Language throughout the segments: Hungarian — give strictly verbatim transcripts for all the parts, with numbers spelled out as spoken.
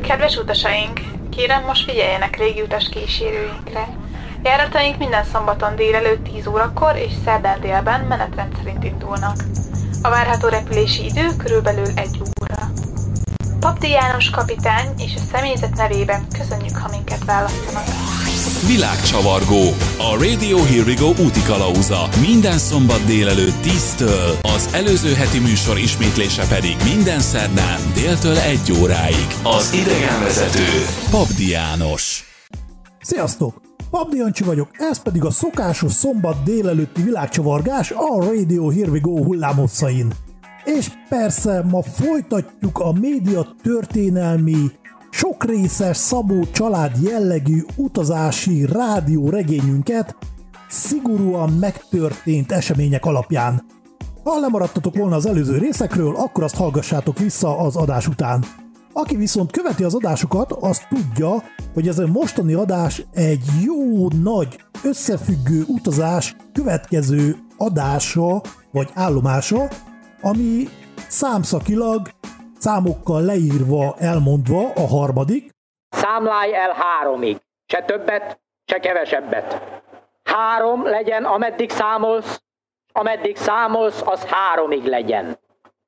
Kedves utasaink, kérem most figyeljenek légiutas kísérőinkre. Járataink minden szombaton délelőtt tíz órakor és szerdán délben menetrend szerint indulnak. A várható repülési idő körülbelül egy óra. Papdi János kapitány és a személyzet nevében köszönjük, ha minket választanak. Világcsavargó, a Radio Here We Go útikalauza. Minden szombat délelőtt tíztől, az előző heti műsor ismétlése pedig minden szerdán déltől egy óráig. Az idegenvezető Papdi János. Sziasztok! Papdi Jancsi vagyok, ez pedig a szokásos szombat délelőtti világcsavargás a Radio Here We Go hullámhosszain. És persze ma folytatjuk a média történelmi, sokrészes Szabó család jellegű utazási rádió regényünket szigorúan megtörtént események alapján. Ha lemaradtatok volna az előző részekről, akkor azt hallgassátok vissza az adás után. Aki viszont követi az adásokat, az tudja, hogy ez a mostani adás egy jó nagy összefüggő utazás következő adása vagy állomása, ami számszakilag, számokkal leírva, elmondva a harmadik. Számlálj el háromig, se többet, se kevesebbet. Három legyen, ameddig számolsz, ameddig számolsz, az háromig legyen.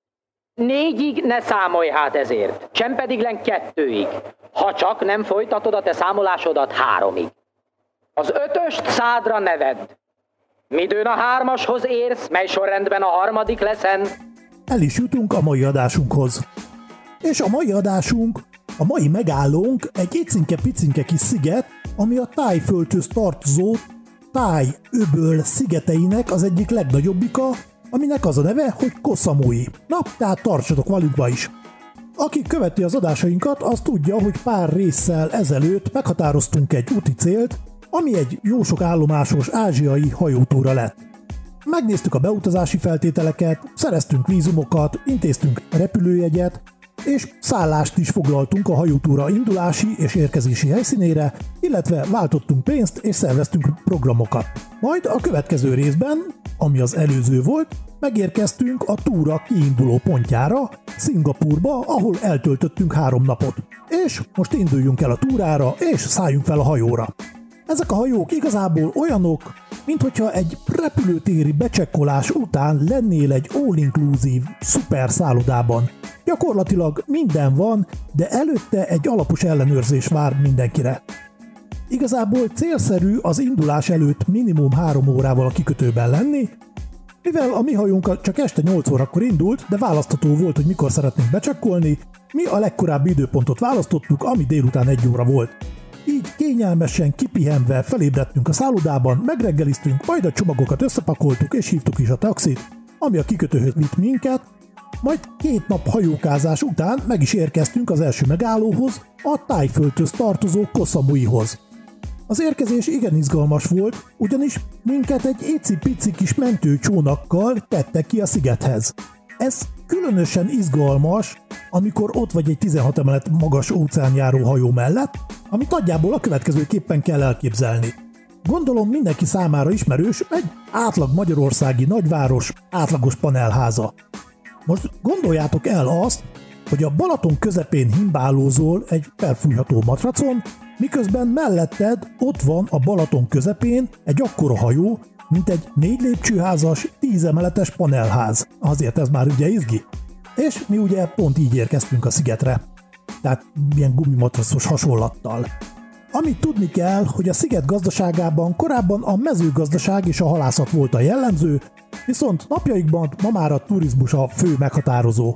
Négyig ne számolj hát ezért, sem pedig len kettőig, ha csak nem folytatod a te számolásodat háromig. Az ötöst szádra ne vedd. Midőn a hármashoz érsz, mely sorrendben a harmadik leszen. El is jutunk a mai adásunkhoz. És a mai adásunk, a mai megállónk egy icinke-picinke kis sziget, ami a Tájföldhöz tartozó Táj-öböl szigeteinek az egyik legnagyobbika, aminek az a neve, hogy Koh Samui. Na, tehát tartsatok velünkbe is. Aki követi az adásainkat, az tudja, hogy pár résszel ezelőtt meghatároztunk egy úti célt, ami egy jó sok állomásos ázsiai hajótúra lett. Megnéztük a beutazási feltételeket, szereztünk vízumokat, intéztünk repülőjegyet, és szállást is foglaltunk a hajótúra indulási és érkezési helyszínére, illetve váltottunk pénzt és szerveztünk programokat. Majd a következő részben, ami az előző volt, megérkeztünk a túra kiinduló pontjára, Szingapúrba, ahol eltöltöttünk három napot. És most induljunk el a túrára, és szálljunk fel a hajóra. Ezek a hajók igazából olyanok, minthogyha egy repülőtéri becsekkolás után lennél egy all-inclusive szuper szállodában. Gyakorlatilag minden van, de előtte egy alapos ellenőrzés vár mindenkire. Igazából célszerű az indulás előtt minimum három órával a kikötőben lenni, mivel a mi hajónk csak este nyolc órakor indult, de választható volt, hogy mikor szeretnénk becsekkolni, mi a legkorábbi időpontot választottuk, ami délután egy óra volt. Így kényelmesen kipihenve felébredtünk a szállodában, megreggeliztünk, majd a csomagokat összepakoltuk és hívtuk is a taxit, ami a kikötőhöz vitt minket, majd két nap hajókázás után meg is érkeztünk az első megállóhoz, a Tájföldhöz tartozó Koh Samuihoz. Az érkezés igen izgalmas volt, ugyanis minket egy éci-pici kis mentőcsónakkal tettek ki a szigethez. Ez különösen izgalmas, amikor ott vagy egy tizenhat emelet magas óceánjáró hajó mellett, amit nagyjából a következőképpen kell elképzelni. Gondolom mindenki számára ismerős egy átlag magyarországi nagyváros átlagos panelháza. Most gondoljátok el azt, hogy a Balaton közepén himbálózol egy felfújható matracon, miközben melletted ott van a Balaton közepén egy akkora hajó, mint egy négy lépcsőházas, tíz emeletes panelház. Azért ez már ugye izgi. És mi ugye pont így érkeztünk a szigetre. Tehát ilyen gumimatracos hasonlattal. Amit tudni kell, hogy a sziget gazdaságában korábban a mezőgazdaság és a halászat volt a jellemző, viszont napjaikban ma már a turizmus a fő meghatározó.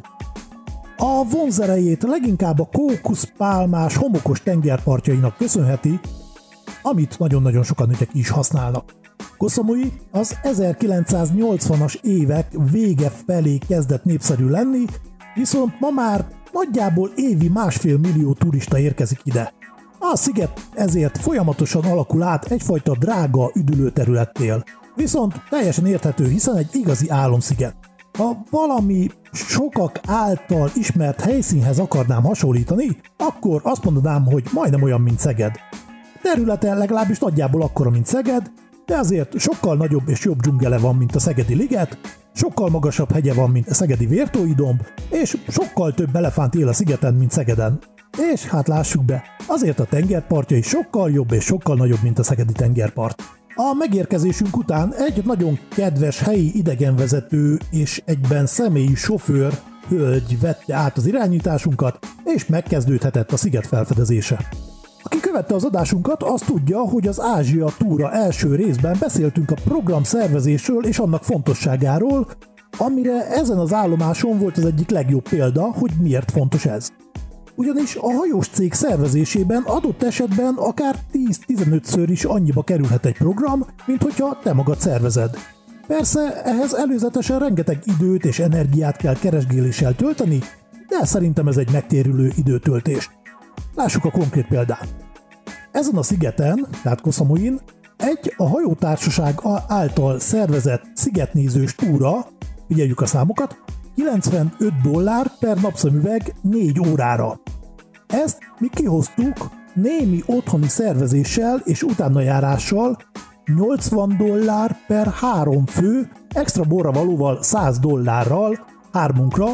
A vonzerejét leginkább a kókuszpálmás homokos tengerpartjainak köszönheti, amit nagyon-nagyon sokan ugye is használnak. Koh Samui az ezerkilencszáznyolcvanas évek vége felé kezdett népszerű lenni, viszont ma már nagyjából évi másfél millió turista érkezik ide. A sziget ezért folyamatosan alakul át egyfajta drága üdülőterülettél. Viszont teljesen érthető, hiszen egy igazi álomsziget. Ha valami sokak által ismert helyszínhez akarnám hasonlítani, akkor azt mondanám, hogy majdnem olyan, mint Szeged. Területe legalábbis nagyjából akkora, mint Szeged, de azért sokkal nagyobb és jobb dzsungele van, mint a Szegedi liget, sokkal magasabb hegye van, mint a Szegedi Vértói domb, és sokkal több elefánt él a szigeten, mint Szegeden. És hát lássuk be, azért a tengerpartja is sokkal jobb és sokkal nagyobb, mint a szegedi tengerpart. A megérkezésünk után egy nagyon kedves helyi idegenvezető és egyben személyi sofőr hölgy vette át az irányításunkat, és megkezdődhetett a sziget felfedezése. Aki követte az adásunkat, az tudja, hogy az Ázsia túra első részben beszéltünk a program szervezésről és annak fontosságáról, amire ezen az állomáson volt az egyik legjobb példa, hogy miért fontos ez. Ugyanis a hajós cég szervezésében adott esetben akár tíz-tizenötször is annyiba kerülhet egy program, mint hogyha te magad szervezed. Persze ehhez előzetesen rengeteg időt és energiát kell keresgéléssel tölteni, de szerintem ez egy megtérülő időtöltés. Lássuk a konkrét példát. Ezen a szigeten, tehát Koh Samuyin, egy a hajótársaság által szervezett szigetnézős túra, figyeljük a számokat, kilencvenöt dollár per napszemüveg négy órára. Ezt mi kihoztuk némi otthoni szervezéssel és utánajárással nyolcvan dollár per három fő, extra borra valóval száz dollárral hármunkra,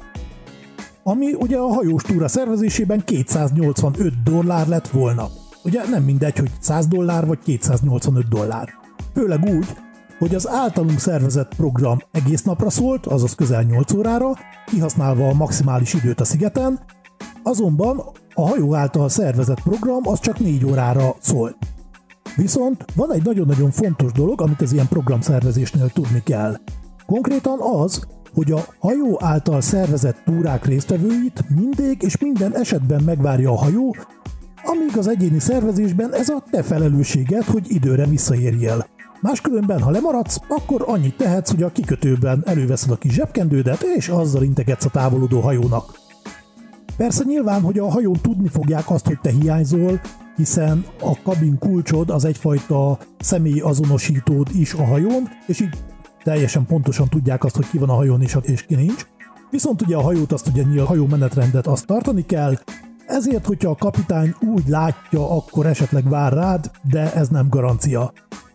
ami ugye a hajós túra szervezésében kétszáznyolcvanöt dollár lett volna. Ugye nem mindegy, hogy száz dollár vagy kétszáznyolcvanöt dollár. Főleg úgy, hogy az általunk szervezett program egész napra szólt, azaz közel nyolc órára, kihasználva a maximális időt a szigeten, azonban a hajó által szervezett program az csak négy órára szólt. Viszont van egy nagyon-nagyon fontos dolog, amit az ilyen programszervezésnél tudni kell. Konkrétan az, hogy a hajó által szervezett túrák résztvevőit mindig és minden esetben megvárja a hajó, amíg az egyéni szervezésben ez a te felelősséged, hogy időre visszaérjél. Máskülönben, ha lemaradsz, akkor annyit tehetsz, hogy a kikötőben előveszed a kis zsebkendődet, és azzal integetsz a távolodó hajónak. Persze nyilván, hogy a hajón tudni fogják azt, hogy te hiányzol, hiszen a kabin kulcsod az egyfajta személyi azonosítód is a hajón, és így teljesen pontosan tudják azt, hogy ki van a hajón és, és ki nincs. Viszont ugye a hajót, azt ugye a hajó menetrendet azt tartani kell, ezért, hogyha a kapitány úgy látja, akkor esetleg vár rád, de ez nem garancia.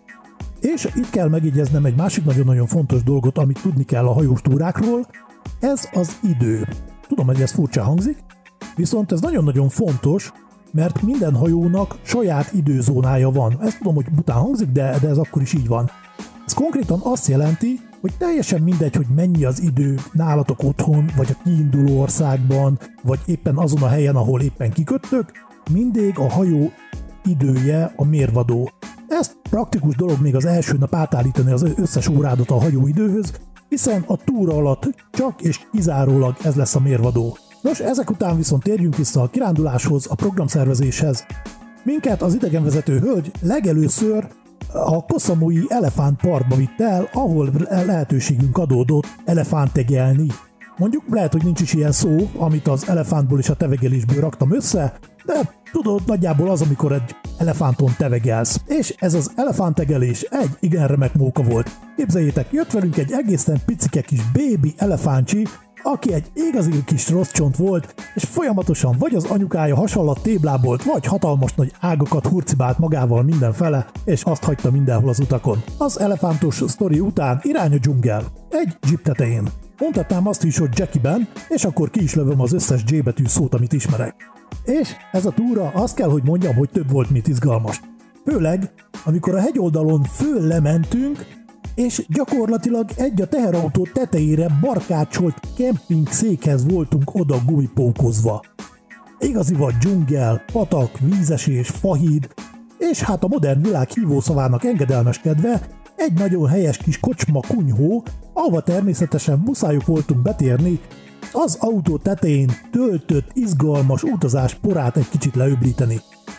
És itt kell megjegyeznem egy másik nagyon-nagyon fontos dolgot, amit tudni kell a hajós túrákról, ez az idő. Tudom, hogy ez furcsa hangzik, viszont ez nagyon-nagyon fontos, mert minden hajónak saját időzónája van. Ezt tudom, hogy bután hangzik, de, de ez akkor is így van. Ez konkrétan azt jelenti, hogy teljesen mindegy, hogy mennyi az idő nálatok otthon, vagy a kiinduló országban, vagy éppen azon a helyen, ahol éppen kiköttök, mindig a hajó idője a mérvadó. Ez praktikus dolog még az első nap átállítani az összes órádat a hajó időhöz, hiszen a túra alatt csak és kizárólag ez lesz a mérvadó. Nos, ezek után viszont térjünk vissza a kiránduláshoz, a programszervezéshez. Minket az idegenvezető hölgy legelőször a Koh Samui elefántparkba vitt el, ahol lehetőségünk adódott elefántegelni. Mondjuk lehet, hogy nincs is ilyen szó, amit az elefántból és a tevegelésből raktam össze, de tudod, nagyjából az, amikor egy elefánton tevegelsz. És ez az elefántegelés egy igen remek móka volt. Képzeljétek, jött velünk egy egészen picike kis bébi elefántcsi, aki egy igazi kis rossz csont volt, és folyamatosan vagy az anyukája hasonlat téblábolt, vagy hatalmas nagy ágakat hurcibált magával mindenfele, és azt hagyta mindenhol az utakon. Az elefántos sztori után irány a dzsungel. Egy jeep tetején. Mondhatnám azt is, hogy Jackie-ben, és akkor ki is lövöm az összes J betű szót, amit ismerek. És ez a túra, azt kell, hogy mondjam, hogy több volt, mint izgalmas. Főleg, amikor a hegyoldalon föl lementünk, és gyakorlatilag egy a teherautó tetejére barkácsolt kemping székhez voltunk oda gumipókozva. Igazi vagy dzsungel, patak, vízesés, fahíd, és hát a modern világ hívószavának engedelmeskedve egy nagyon helyes kis kocsma kunyhó, ahova természetesen muszájuk voltunk betérni, az autó tetején töltött, izgalmas utazás porát egy kicsit leöblíteni.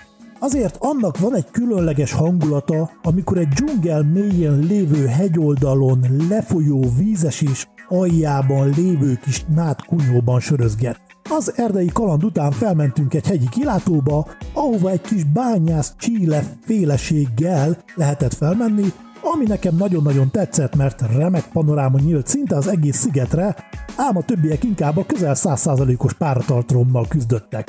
Azért annak van egy különleges hangulata, amikor egy dzsungel mélyén lévő hegyoldalon lefolyó vízesés aljában lévő kis nádkunyhóban sörözget. Az erdei kaland után felmentünk egy hegyi kilátóba, ahova egy kis bányász csíle féleséggel lehetett felmenni, ami nekem nagyon-nagyon tetszett, mert remek panoráma nyílt szinte az egész szigetre, ám a többiek inkább a közel száz százalékos páratartalommal küzdöttek.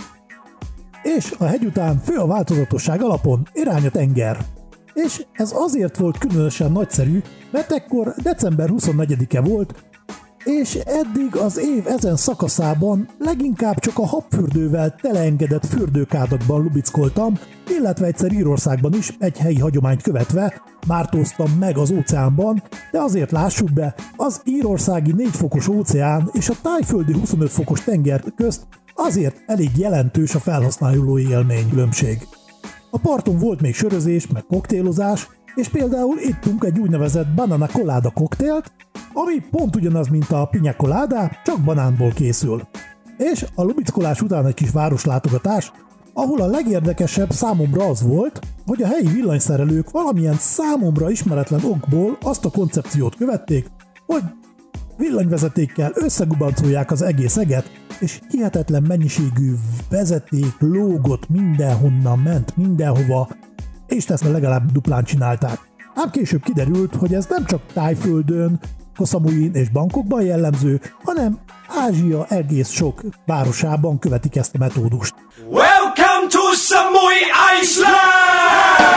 És a hegy után fő a változatosság alapon irány a tenger. És ez azért volt különösen nagyszerű, mert ekkor december huszonnegyedike volt, és eddig az év ezen szakaszában leginkább csak a habfürdővel teleengedett fürdőkádakban lubickoltam, illetve egyszer Írországban is egy helyi hagyományt követve mártóztam meg az óceánban, de azért lássuk be, az írországi négy fokos óceán és a tájföldi huszonöt fokos tenger közt azért elég jelentős a felhasználói élmény különbség. A parton volt még sörözés, meg koktélozás, és például ittunk egy úgynevezett banana colada koktélt, ami pont ugyanaz, mint a piña colada, csak banánból készül. És a lubickolás után egy kis városlátogatás, ahol a legérdekesebb számomra az volt, hogy a helyi villanyszerelők valamilyen számomra ismeretlen okból azt a koncepciót követték, hogy villanyvezetékkel összegubancolják az egész eget, és hihetetlen mennyiségű vezeték lógott mindenhonnan, ment mindenhova, és ezt legalább duplán csinálták. Ám később kiderült, hogy ez nem csak Tájföldön, Koh Samuin és Bangkokban jellemző, hanem Ázsia egész sok városában követik ezt a metódust. Welcome to Samui Island!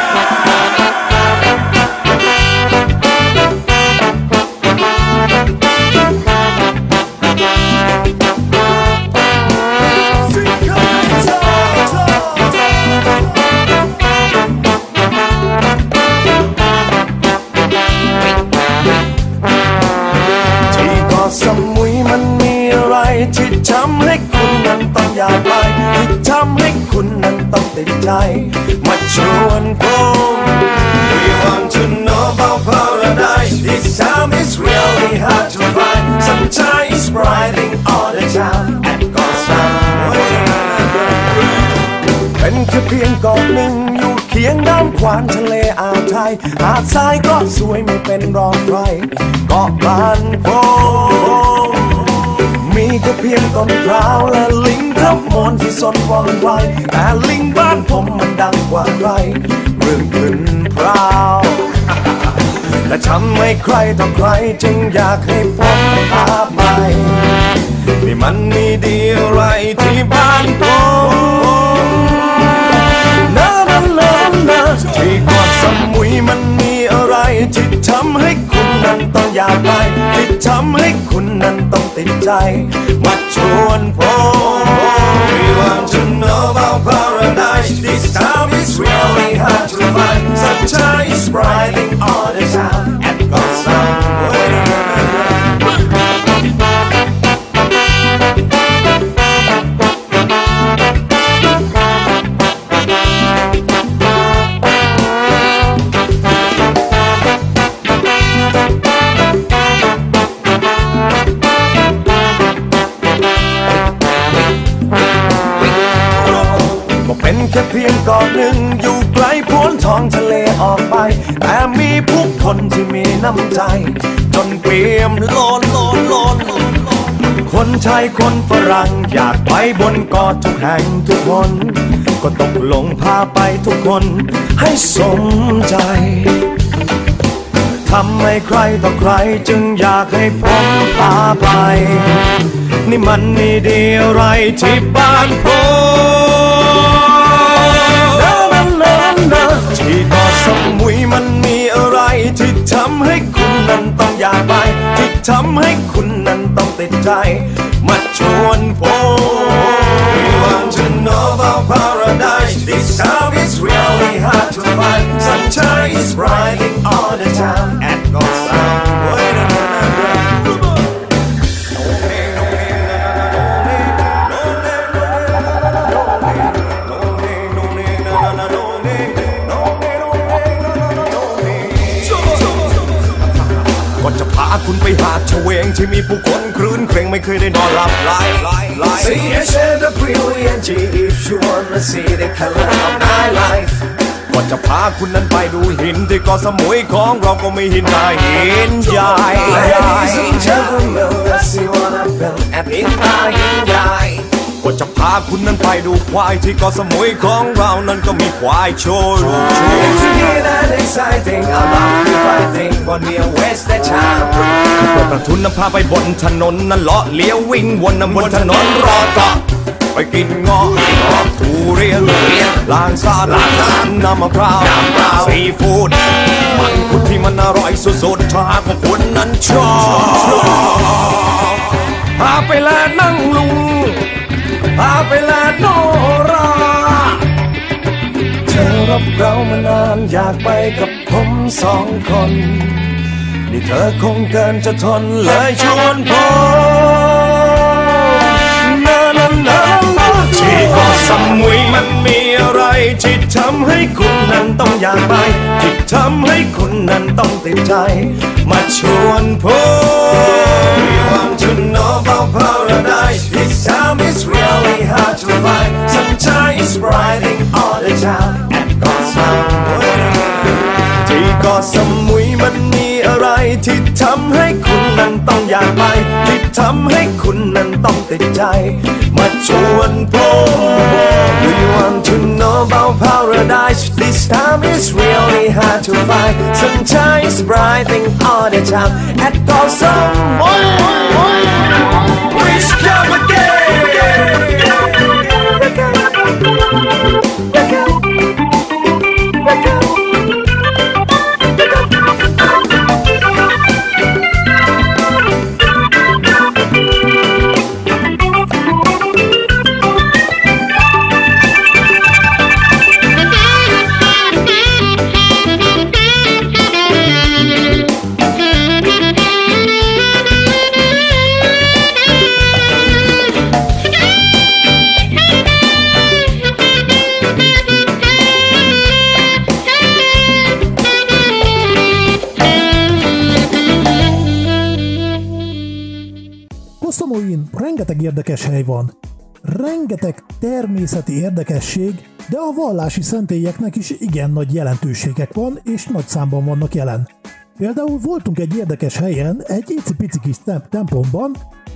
สมุยมันมีอะไรที่ทำให้คุณนั้นต้องอยากไปที่ทำให้คุณนั้นต้องติดใจมาชวนผม We want to know about paradise. This time is really hard to find. Sunshine is brighting all the time and goes away. เป็นแค่เพียงเกาะหนึ่งอยู่เคียงน้ำขวานทะเลอ่าวไทยหาดทรายก็สวยไม่เป็นรองใครเกาะบ้านผมมีก็เพียงต้นพร้าวและลิงทั้งมวลที่สนว่องไวแต่ลิงบ้านผมมันดังกว่าใครเรื่องขึ้นพร้าวและทำให้ใครต่อใครจึงอยากให้ผมพาไปนี่มันมีดีอะไรที่บ้านผมนานานานาที่เกาะสมุยมันมีอะไรที่ทำให้คุณนั้นต้องอยากไปที่ทำให้คุณนั้นต้องติดใจมาชวนผม We want to know about paradise. This time is really hard to find. Sunshine is brighting all the time and goes away.เป็นแค่เพียงเกาะหนึ่งอยู่ไกลพ้นท้องทะเลออกไปแต่มีผู้คนที่มีน้ำใจจนเปี่ยมล้นล้นล้นคนไทยคนฝรั่งอยากไปบนเกาะทุกแห่งทุกคนก็ตกลงพาไปทุกคนให้สมใจทำให้ใครต่อใครจึงอยากให้ผมพาไปนี่มันมีดีอะไรที่บ้านผมที่เกาะสมุยมันมีอะไรที่ทำให้คุณนั้นต้องอยากไปที่ทำให้คุณนั้นต้องติดใจมาชวนผม We want to know about paradise. This time is really hard to find. Sunshine is brighting all the time and goes away.จะพาคุณไปหาดเฉวงที่มีผู้คนครื้นเคร่งไม่เคยได้นอนหลับไหล C H A W E N G if you wanna see the color of night life ก็จะพาคุณนั้นไปดูหินที่เกาะสมุยของเราก็ไม่หินใหญ่หินใหญ่ Ladies and gentlemen let's see what I built and in my หินใหญ่ก็จะพาคุณนั้นไปดูควายที่เกาะสมุยของเรานั้นก็มีควายโชว์ It's that exciting I love you fighting but we waste the time เปิดประทุนนำพาไปบนถนนนั้นเลาะเลี้ยววิ่งวนนำบนถนนรอต่อไปกินเงาะเงาะถั่เรียนล้างสาดน้ำมะพร้าวซีฟู้ดมันคุดที่มันอร่อยสุดๆถ้าหากว่าคุณนั้นชอบพาไปแลนั่งลุงพาไปแลโนราเธอรับเรามานานอยากไปกับผมสองคนนี่เธอคงเกินจะทนเลยชวนผมนานานาที่เกาะสมุยมันมีอะไรที่ทำให้คุณนั้นต้องอยากไปที่ทำให้คุณนั้นต้องติดใจมาชวนผม We want to know about paradise This time it's really hard to find Sunshine is brighting all the time At Got Samuy ที่เกาะสมุยมันมีอะไรที่ทำให้คุณนั้นต้องอยากไปที่ทำให้คุณนั้นต้องติดใจมาชวนผม We want to know about paradise This time it's really hard to find Sunshine is brighting all the time At Got Samuy Please come again Koszomóin rengeteg érdekes hely van, rengeteg természeti érdekesség, de a vallási szentélyeknek is igen nagy jelentőségek van, és nagy számban vannak jelen. Például voltunk egy érdekes helyen, egy icipici kis templomban,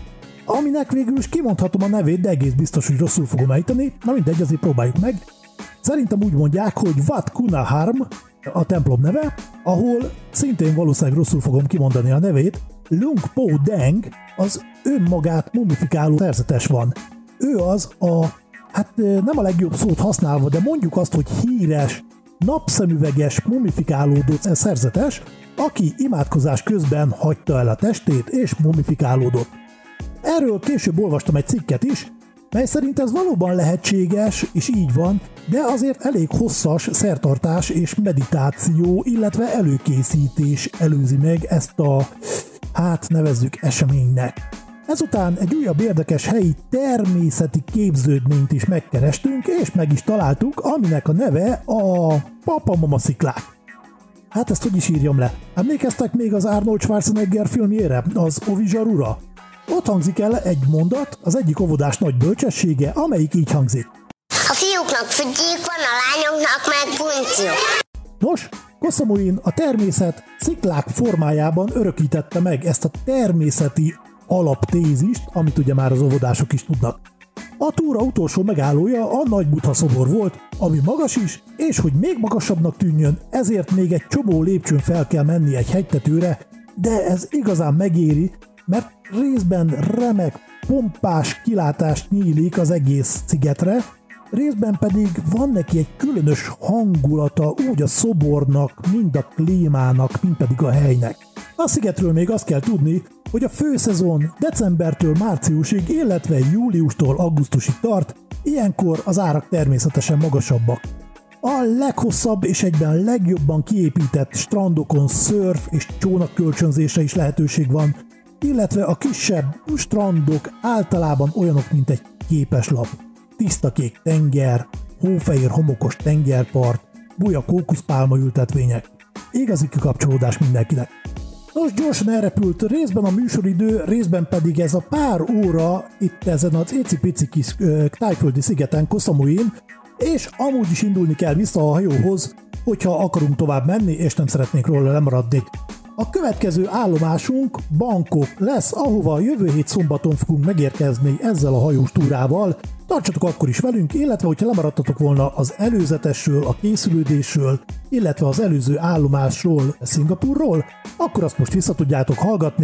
aminek végül is kimondhatom a nevét, de egész biztos, hogy rosszul fogom ejteni, na mindegy, azért próbáljuk meg. Szerintem úgy mondják, hogy Wat Kunaharm a templom neve, ahol szintén valószínűleg rosszul fogom kimondani a nevét, Lung Po Deng az önmagát mumifikáló szerzetes van. Ő az a, hát nem a legjobb szót használva, de mondjuk azt, hogy híres, napszemüveges, mumifikálódott szerzetes, aki imádkozás közben hagyta el a testét és mumifikálódott. Erről később olvastam egy cikket is, mely szerint ez valóban lehetséges, és így van, de azért elég hosszas szertartás és meditáció, illetve előkészítés előzi meg ezt a, hát nevezzük eseménynek. Ezután egy újabb érdekes helyi természeti képződményt is megkerestünk, és meg is találtuk, aminek a neve a Papamama sziklák. Hát ezt hogy is írjam le? Emlékeztek még az Arnold Schwarzenegger filmjére, az Ovizsarura? Ott hangzik el egy mondat, az egyik óvodás nagy bölcsessége, amelyik így hangzik. A fiúknak fügyék van, a lányoknak meg puntyok. Nos, Koszomóin a természet sziklák formájában örökítette meg ezt a természeti alaptézist, amit ugye már az óvodások is tudnak. A túra utolsó megállója a Nagy Buddha szobor volt, ami magas is, és hogy még magasabbnak tűnjön, ezért még egy csomó lépcsőn fel kell menni egy hegytetőre, de ez igazán megéri, mert részben remek, pompás kilátást nyílik az egész szigetre, részben pedig van neki egy különös hangulata úgy a szobornak, mind a klímának, mind pedig a helynek. A szigetről még azt kell tudni, hogy a főszezon decembertől márciusig, illetve júliustól augusztusig tart, ilyenkor az árak természetesen magasabbak. A leghosszabb és egyben legjobban kiépített strandokon szörf és csónakkölcsönzésre is lehetőség van, illetve a kisebb strandok általában olyanok, mint egy képeslap. Tiszta kék tenger, hófehér homokos tengerpart, buja kókuszpálma ültetvények. Igazi kikapcsolódás mindenkinek. Nos, gyorsan elrepült részben a műsoridő, részben pedig ez a pár óra itt ezen az icipici kis uh, tájföldi szigeten, Koszomóin, és amúgy is indulni kell vissza a hajóhoz, hogyha akarunk tovább menni, és nem szeretnénk róla lemaradni. A következő állomásunk Bangkok lesz, ahova jövő hét szombaton fogunk megérkezni ezzel a hajós túrával. Tartsatok akkor is velünk, illetve hogyha lemaradtatok volna az előzetesről, a készülődésről, illetve az előző állomásról, Szingapúrról, akkor azt most vissza tudjátok hallgatni.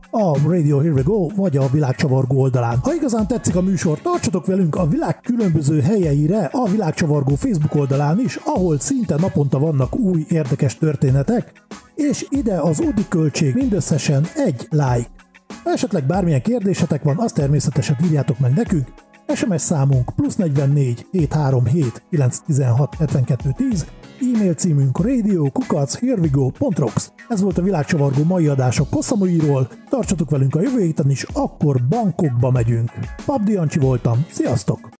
a Radio Here We Go, vagy a Világcsavargó oldalán. Ha igazán tetszik a műsor, tartsatok velünk a világ különböző helyeire a Világcsavargó Facebook oldalán is, ahol szinte naponta vannak új érdekes történetek, és ide az Udi költség mindösszesen egy like. Ha esetleg bármilyen kérdésetek van, azt természetesen írjátok meg nekünk. es em es számunk plusz negyvennégy hétszázharminchét kilencszáztizenhat hetvenkettő tíz, e-mail címünk radio kukac herewego pont rocks. Ez volt a Világcsavargó mai adása Kosszamoiról, tartsatok velünk a jövő héten is, akkor Bangkokba megyünk. Pabdi Jancsi voltam, sziasztok!